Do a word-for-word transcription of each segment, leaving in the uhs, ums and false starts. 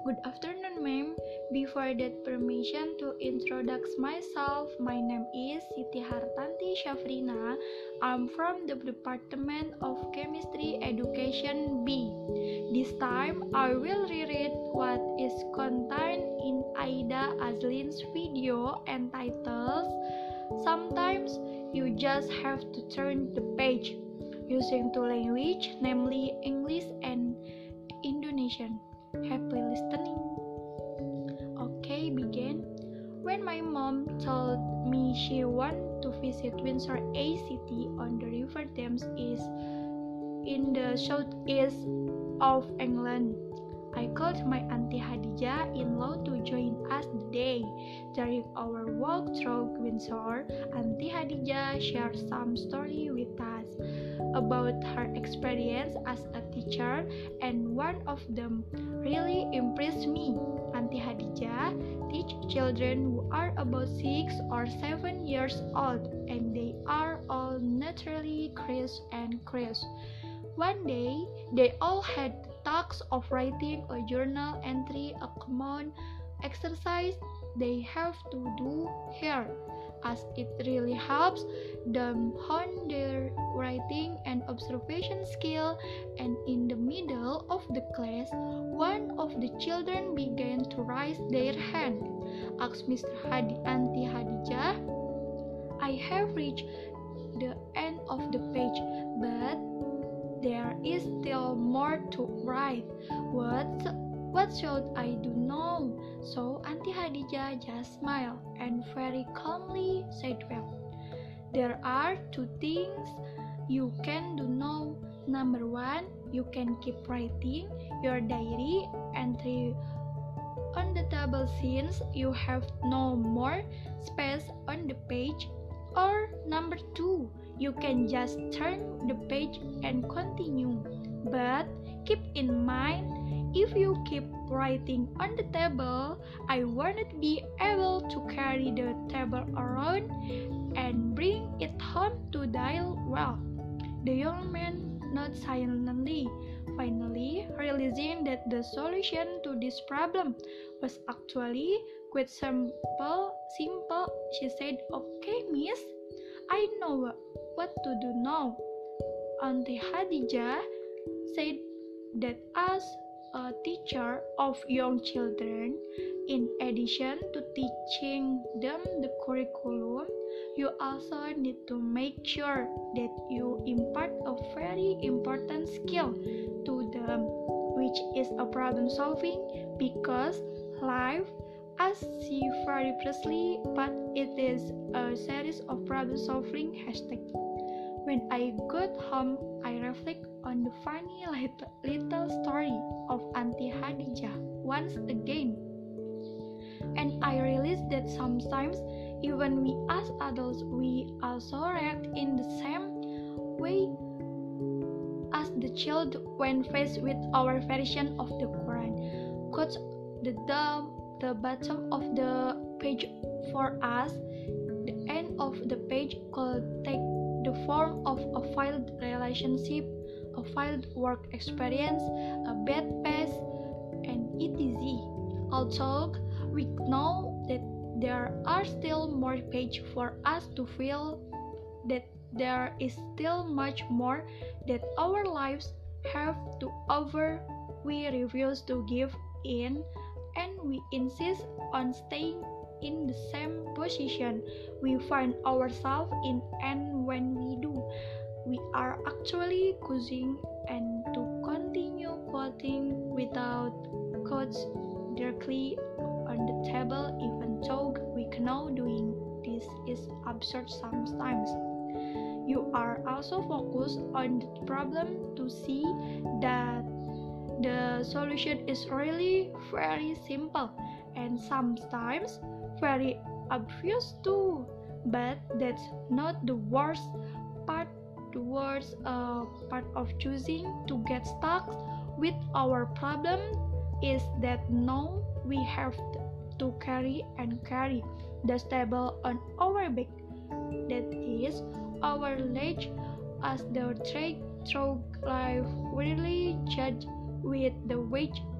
Good afternoon, ma'am. Before that, permission to introduce myself. My name is Siti Hartanti Syafrina. I'm from the Department of Chemistry Education B. This time, I will reread what is contained in Aida Azlin's video entitled Sometimes You Just Have to Turn the Page, using two languages, namely English and Indonesian. Happy listening. Okay, begin. When my mom told me she wanted to visit Windsor A C T on the River Thames is in the southeast of England, I called my Auntie Hadijah in-law to join us the day. During our walk through Windsor, Auntie Hadijah shared some story with us about her experience as a teacher, and one of them really impressed me. Auntie Hadijah teach children who are about six or seven years old, and they are all naturally curious and curious. One day, they all had the task of writing a journal entry, a common exercise they have to do here, as it really helps them hone their writing and observation skill. And in the middle of the class, one of the children began to raise their hand. Asked Mister Hadi, Auntie Hadijah, I have reached the end of the page, but there is still more to write. What, what should I do now? So Auntie Hadijah just smiled and very calmly said, well, there are two things you can do now. Number one, you can keep writing your diary entry on the table since you have no more space on the page. Or number two, you can just turn the page and continue. But keep in mind, if you keep writing on the table, I won't be able to carry the table around and bring it home to dial well. The young man nodded silently, finally realizing that the solution to this problem was actually quite simple. Simple, she said, "Okay, miss, I know what to do now." Auntie Hadijah said that as a teacher of young children, in addition to teaching them the curriculum, you also need to make sure that you impart a very important skill to them, which is a problem solving, because life, as she very precisely but it is a series of problem solving hashtags. When I got home, I reflect on the funny little, little story of Auntie Hadijah once again. And I realized that sometimes, even we as adults, we also react in the same way as the child when faced with our version of the Quran. Quotes the, the, the bottom of the page for us. The end of the page could take the form of a failed relationship, a failed work experience, a bad past, and et cetera. Although we know that there are still more pages for us to fill, that there is still much more that our lives have to offer, we refuse to give in, and we insist on staying in the same position we find ourselves in, and when we do, we are actually causing and to continue quoting without quotes directly on the table, even though we know doing this is absurd sometimes. You are also focused on the problem to see that the solution is really very simple and sometimes very obvious too, but that's not the worst part. The worst uh, part of choosing to get stuck with our problem is that now we have to carry and carry the table on our back. That is our ledge as the trek through life really judged with the weight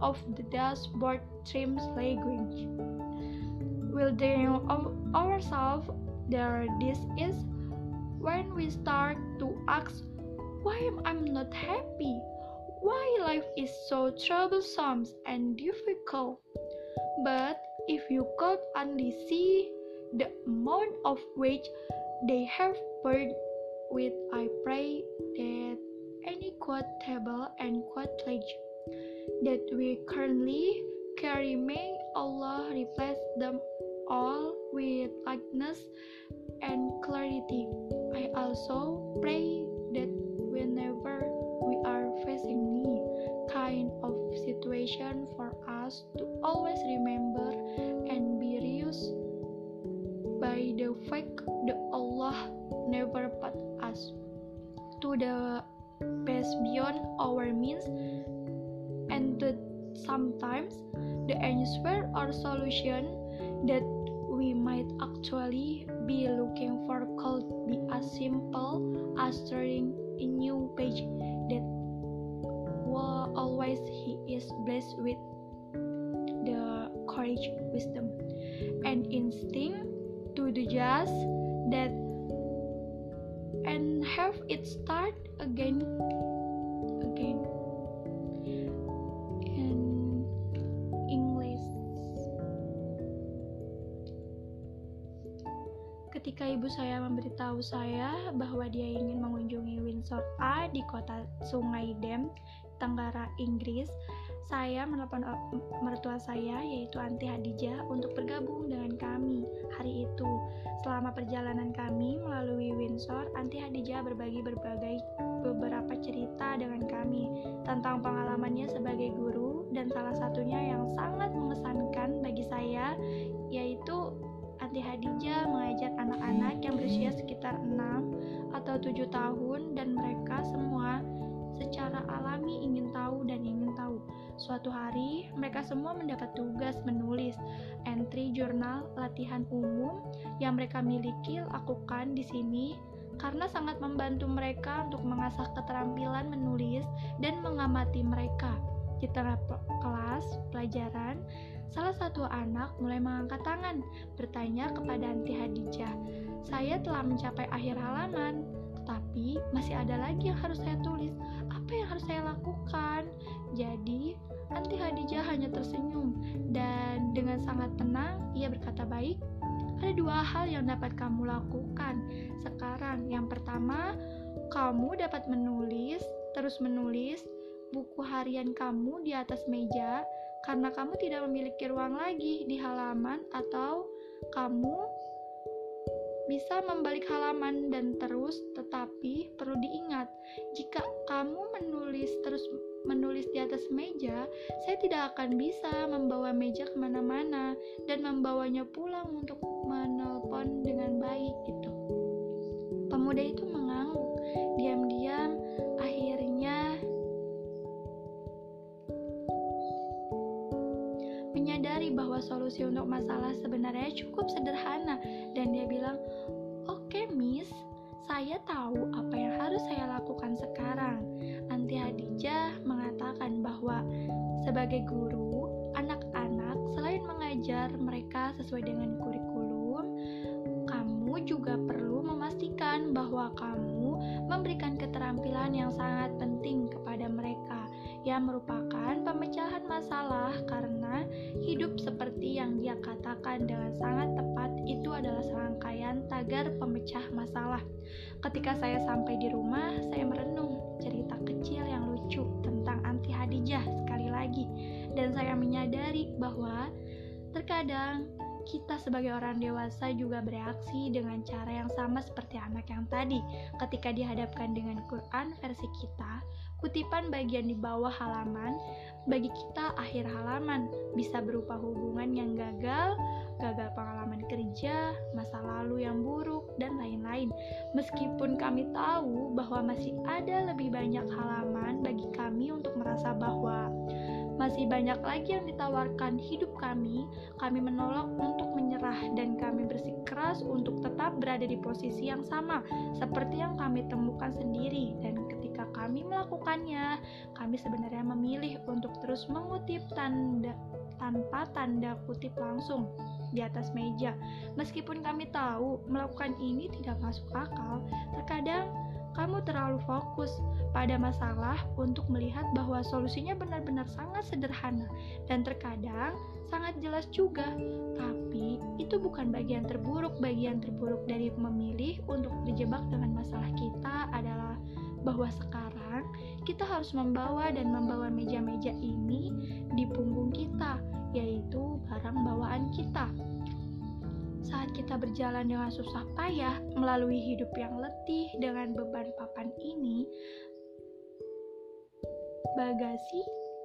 of the dashboard trims language. Wildering ourselves there, this is when we start to ask, why am I not happy? Why life is so troublesome and difficult? But if you could only see the amount of which they have burned with, I pray that any quotable and quotage that we currently carry, may Allah replace them all with lightness and clarity. I also pray that whenever we are facing any kind of situation, for us to always remember and be reused by the fact that Allah never put us to the best beyond our means, and that sometimes the answer or solution that we might actually be looking for could be as simple as turning a new page, that while always He is blessed with the courage, wisdom, and instinct to do just that and have it start again again in English. Ketika ibu saya memberitahu saya bahwa dia ingin mengunjungi Windsor A di kota Sungai Dam, Tenggara Inggris, saya menelepon mertua saya, yaitu Anti Hadijah, untuk bergabung dengan kami hari itu. Selama perjalanan kami melalui Windsor, Anti Hadijah berbagi berbagai beberapa cerita dengan kami tentang pengalamannya sebagai guru, dan salah satunya yang sangat mengesankan bagi saya, yaitu Anti Hadijah mengajar anak-anak yang berusia sekitar enam atau tujuh tahun, dan mereka semua secara alami ingin tahu dan ingin tahu. Suatu hari, mereka semua mendapat tugas menulis entry jurnal latihan umum yang mereka miliki. Lakukan di sini karena sangat membantu mereka untuk mengasah keterampilan menulis dan mengamati mereka. Di tengah kelas pelajaran, salah satu anak mulai mengangkat tangan, bertanya kepada Anti Hadijah, "Saya telah mencapai akhir halaman, tetapi masih ada lagi yang harus saya tulis. Apa yang harus saya lakukan?" Jadi, Anti Hadijah hanya tersenyum, dan dengan sangat tenang ia berkata, "Baik, ada dua hal yang dapat kamu lakukan sekarang. Yang pertama, kamu dapat menulis, terus menulis buku harian kamu di atas meja, karena kamu tidak memiliki ruang lagi di halaman, atau kamu bisa membalik halaman dan terus, tetapi perlu diingat, jika kamu menulis terus menulis di atas meja, saya tidak akan bisa membawa meja kemana-mana dan membawanya pulang untuk menelpon dengan baik." Gitu. Pemuda itu mengangguk, diam-diam akhirnya menyadari bahwa solusi untuk masalah sebenarnya cukup sederhana, dan dia bilang, "Oke, Miss, saya tahu apa yang harus saya lakukan sekarang." Anti Hadijah mengatakan bahwa sebagai guru, anak-anak selain mengajar mereka sesuai dengan kurikulum, kamu juga perlu memastikan bahwa kamu memberikan keterampilan yang sangat penting kepada mereka, yang merupakan pemecahan masalah, karena hidup seperti yang dia katakan dengan sangat tepat itu adalah serangkaian tagar pemecah masalah. Ketika saya sampai di rumah, saya merenung cerita kecil yang lucu tentang Anti Hadijah sekali lagi, dan saya menyadari bahwa terkadang kita sebagai orang dewasa juga bereaksi dengan cara yang sama seperti anak yang tadi. Ketika dihadapkan dengan Quran versi kita, kutipan bagian di bawah halaman, bagi kita akhir halaman bisa berupa hubungan yang gagal, gagal pengalaman kerja, masa lalu yang buruk, dan lain-lain. Meskipun kami tahu bahwa masih ada lebih banyak halaman bagi kami untuk merasa bahwa masih banyak lagi yang ditawarkan hidup kami, kami menolak untuk menyerah, dan kami bersikeras untuk tetap berada di posisi yang sama seperti yang kami temukan sendiri. Dan ketika kami melakukannya. Kami sebenarnya memilih untuk terus mengutip tanda tanpa tanda kutip langsung di atas meja. Meskipun kami tahu melakukan ini tidak masuk akal, terkadang kamu terlalu fokus pada masalah untuk melihat bahwa solusinya benar-benar sangat sederhana dan terkadang sangat jelas juga. Tapi itu bukan bagian terburuk. Bagian terburuk dari memilih untuk terjebak dengan masalah kita adalah bahwa sekarang kita harus membawa dan membawa meja-meja ini di punggung kita, yaitu barang bawaan kita. Saat kita berjalan dengan susah payah melalui hidup yang letih dengan beban papan ini, bagasi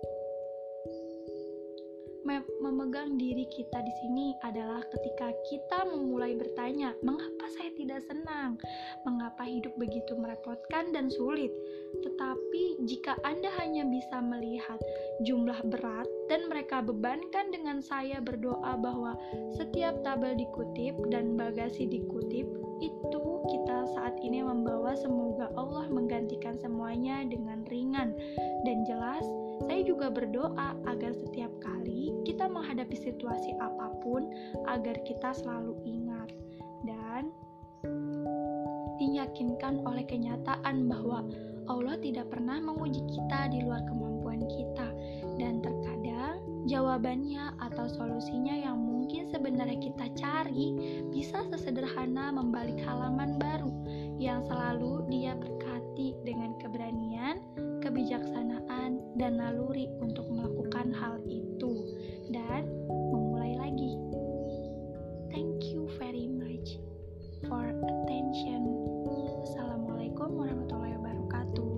memegang diri kita di sini adalah ketika kita memulai bertanya, mengapa saya tidak senang? Mengapa hidup begitu merepotkan dan sulit? Tetapi jika Anda hanya bisa melihat jumlah berat dan mereka bebankan dengan saya berdoa bahwa setiap tabel dikutip dan bagasi dikutip, itu kita saat ini membawa, semoga Allah menggantikan semuanya dengan ringan dan jelas. Saya juga berdoa agar setiap kali kita menghadapi situasi apapun, agar kita selalu ingat dan diyakinkan oleh kenyataan bahwa Allah tidak pernah menguji kita di luar kemampuan kita. Dan terkadang jawabannya atau solusinya yang mungkin sebenarnya kita cari bisa sesederhana membalik halaman baru yang selalu Dia berkati dengan keberanian, kebijaksanaan, dan naluri untuk melakukan hal itu dan memulai lagi. Thank you very much for attention. Assalamualaikum warahmatullahi wabarakatuh.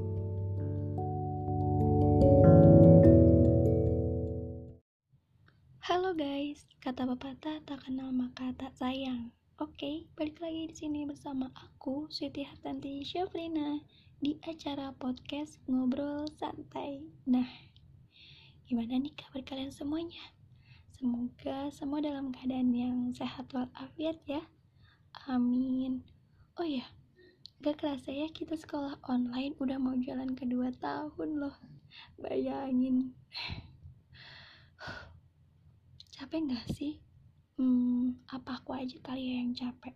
Halo guys, kata pepatah tak kenal maka tak sayang. Oke, balik lagi di sini bersama aku, Siti Hartanti Syafrina, di acara podcast Ngobrol Santai. Nah, gimana nih kabar kalian semuanya? Semoga semua dalam keadaan yang sehat walafiat ya. Amin. Oh ya, gak kerasa ya kita sekolah online udah mau jalan kedua tahun loh. Bayangin. Capek gak sih? Hmm, apa aku aja kali ya yang capek?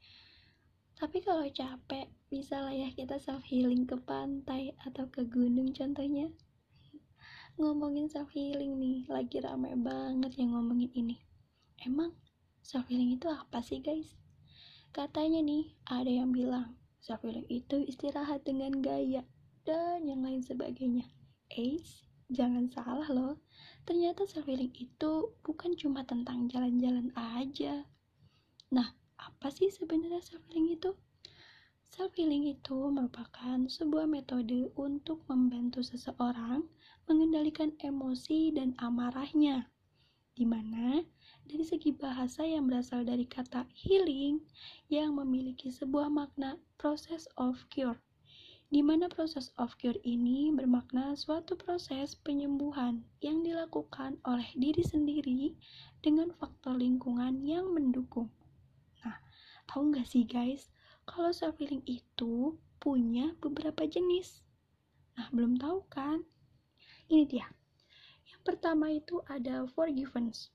Tapi kalau capek, bisa lah ya kita self healing ke pantai atau ke gunung contohnya. Ngomongin self healing nih, lagi rame banget yang ngomongin ini. Emang self healing itu apa sih guys? Katanya nih, ada yang bilang self healing itu istirahat dengan gaya dan yang lain sebagainya. Eits, jangan salah loh. Ternyata self healing itu bukan cuma tentang jalan-jalan aja. Nah, apa sih sebenarnya self healing itu? Self healing itu merupakan sebuah metode untuk membantu seseorang mengendalikan emosi dan amarahnya, di mana dari segi bahasa yang berasal dari kata healing yang memiliki sebuah makna process of cure, di mana proses of cure ini bermakna suatu proses penyembuhan yang dilakukan oleh diri sendiri dengan faktor lingkungan yang mendukung. Nah, tahu nggak sih guys, kalau self healing itu punya beberapa jenis. Nah, belum tahu kan? Ini dia. Yang pertama itu ada forgiveness.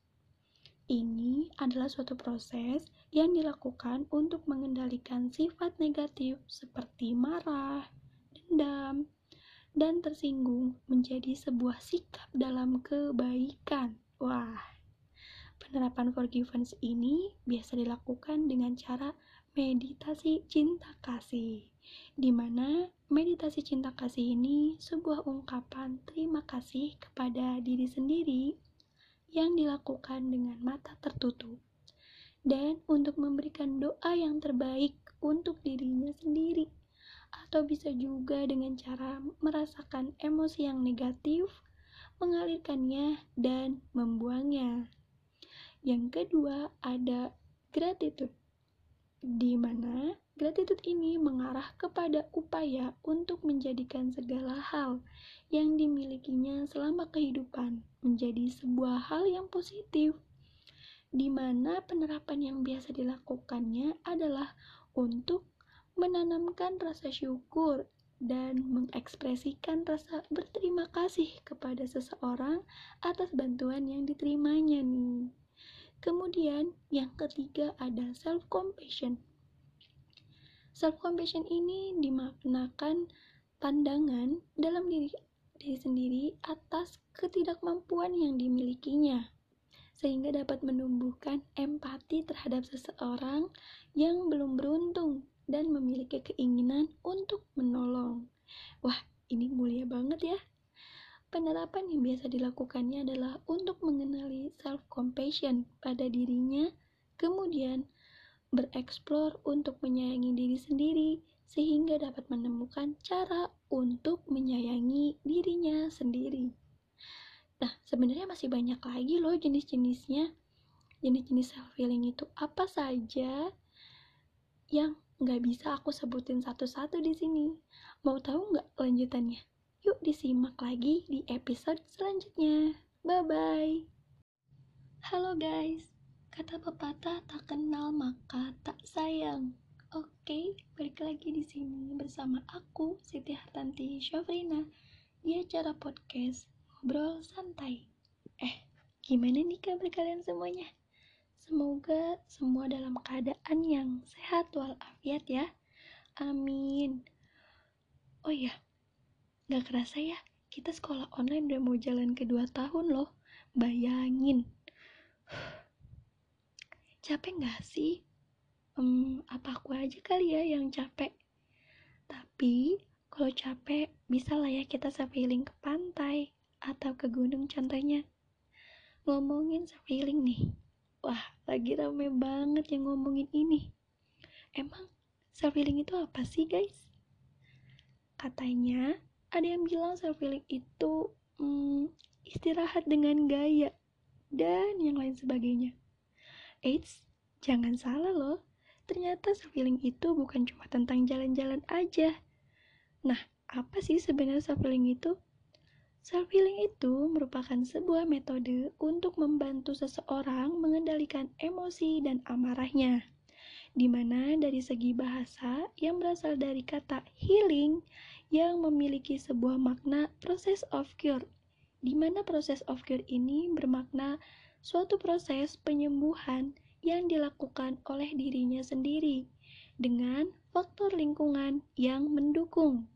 Ini adalah suatu proses yang dilakukan untuk mengendalikan sifat negatif seperti marah, dendam, dan tersinggung menjadi sebuah sikap dalam kebaikan. Wah, penerapan forgiveness ini biasa dilakukan dengan cara meditasi cinta kasih, di mana meditasi cinta kasih ini sebuah ungkapan terima kasih kepada diri sendiri yang dilakukan dengan mata tertutup dan untuk memberikan doa yang terbaik untuk dirinya sendiri, atau bisa juga dengan cara merasakan emosi yang negatif, mengalirkannya dan membuangnya. Yang kedua ada gratitude, di mana gratitude ini mengarah kepada upaya untuk menjadikan segala hal yang dimilikinya selama kehidupan menjadi sebuah hal yang positif, di mana penerapan yang biasa dilakukannya adalah untuk menanamkan rasa syukur dan mengekspresikan rasa berterima kasih kepada seseorang atas bantuan yang diterimanya nih. Kemudian yang ketiga ada self-compassion. Self-compassion ini dimaknakan pandangan dalam diri, diri sendiri atas ketidakmampuan yang dimilikinya, sehingga dapat menumbuhkan empati terhadap seseorang yang belum beruntung dan memiliki keinginan untuk menolong. Wah, ini mulia banget ya. Penerapan yang biasa dilakukannya adalah untuk mengenali self-compassion pada dirinya, kemudian bereksplor untuk menyayangi diri sendiri, sehingga dapat menemukan cara untuk menyayangi dirinya sendiri. Nah, sebenarnya masih banyak lagi loh jenis-jenisnya. Jenis-jenis self-healing itu apa saja yang nggak bisa aku sebutin satu-satu di sini. Mau tahu nggak lanjutannya? Yuk disimak lagi di episode selanjutnya. Bye-bye. Halo guys, kata pepatah tak kenal maka tak sayang. Oke, balik lagi di sini bersama aku Siti Hartanti Syafrina di acara podcast Ngobrol Santai. Eh, gimana nih kabar kalian semuanya? Semoga semua dalam keadaan yang sehat walafiat ya. Amin. Oh iya, gak kerasa ya, kita sekolah online udah mau jalan ke dua tahun loh. Bayangin. Capek gak sih? Hmm, apa aku aja kali ya yang capek? Tapi, kalau capek, bisa lah ya kita self-healing ke pantai atau ke gunung contohnya. Ngomongin self-healing nih. Wah, lagi rame banget yang ngomongin ini. Emang self-healing itu apa sih guys? Katanya, ada yang bilang self-healing itu hmm, istirahat dengan gaya dan yang lain sebagainya. Eits, jangan salah loh. Ternyata self-healing itu bukan cuma tentang jalan-jalan aja. Nah, apa sih sebenarnya self-healing itu? Self-healing itu merupakan sebuah metode untuk membantu seseorang mengendalikan emosi dan amarahnya. Di mana dari segi bahasa yang berasal dari kata healing yang memiliki sebuah makna process of cure, di mana proses of cure ini bermakna suatu proses penyembuhan yang dilakukan oleh dirinya sendiri dengan faktor lingkungan yang mendukung.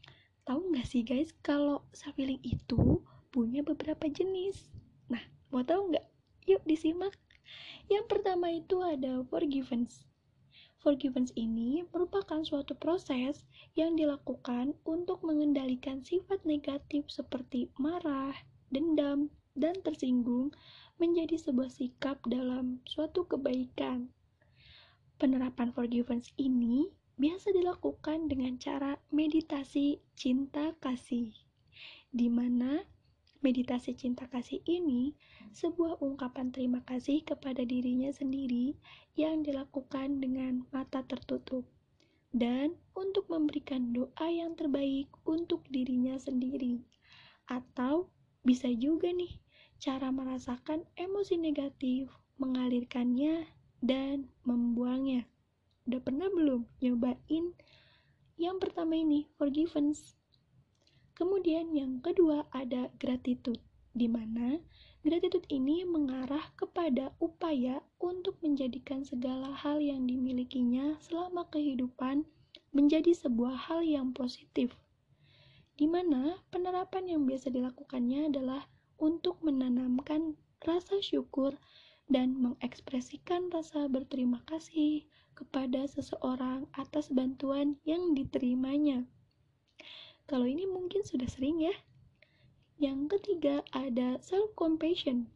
Tahu nggak sih guys kalau self-healing itu punya beberapa jenis? Nah, mau tahu nggak? Yuk disimak. Yang pertama itu ada forgiveness. Forgiveness ini merupakan suatu proses yang dilakukan untuk mengendalikan sifat negatif seperti marah, dendam, dan tersinggung menjadi sebuah sikap dalam suatu kebaikan. Penerapan forgiveness ini biasa dilakukan dengan cara meditasi cinta kasih, di mana meditasi cinta kasih ini sebuah ungkapan terima kasih kepada dirinya sendiri yang dilakukan dengan mata tertutup dan untuk memberikan doa yang terbaik untuk dirinya sendiri. Atau bisa juga nih cara merasakan emosi negatif, mengalirkannya dan membuangnya. Udah pernah belum nyobain yang pertama ini, forgiveness? Kemudian yang kedua ada gratitude, di mana gratitude ini mengarah kepada upaya untuk menjadikan segala hal yang dimilikinya selama kehidupan menjadi sebuah hal yang positif, di mana penerapan yang biasa dilakukannya adalah untuk menanamkan rasa syukur dan mengekspresikan rasa berterima kasih kepada seseorang atas bantuan yang diterimanya. Kalau ini mungkin sudah sering ya. Yang ketiga ada self-compassion,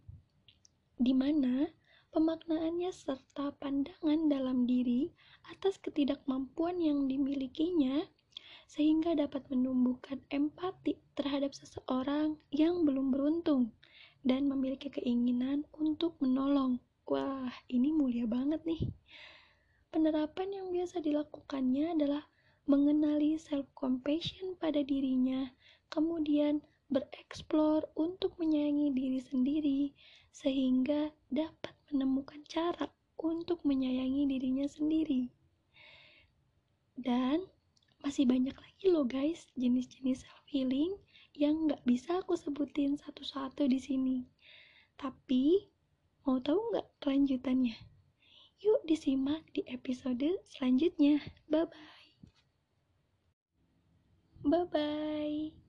di mana pemaknaannya serta pandangan dalam diri atas ketidakmampuan yang dimilikinya sehingga dapat menumbuhkan empati terhadap seseorang yang belum beruntung dan memiliki keinginan untuk menolong. Wah, ini mulia banget nih. Penerapan yang biasa dilakukannya adalah mengenali self-compassion pada dirinya, kemudian bereksplor untuk menyayangi diri sendiri, sehingga dapat menemukan cara untuk menyayangi dirinya sendiri. Dan masih banyak lagi loh guys jenis-jenis self healing yang nggak bisa aku sebutin satu-satu di sini. Tapi mau tahu nggak kelanjutannya? Yuk disimak di episode selanjutnya. Bye bye. Bye bye.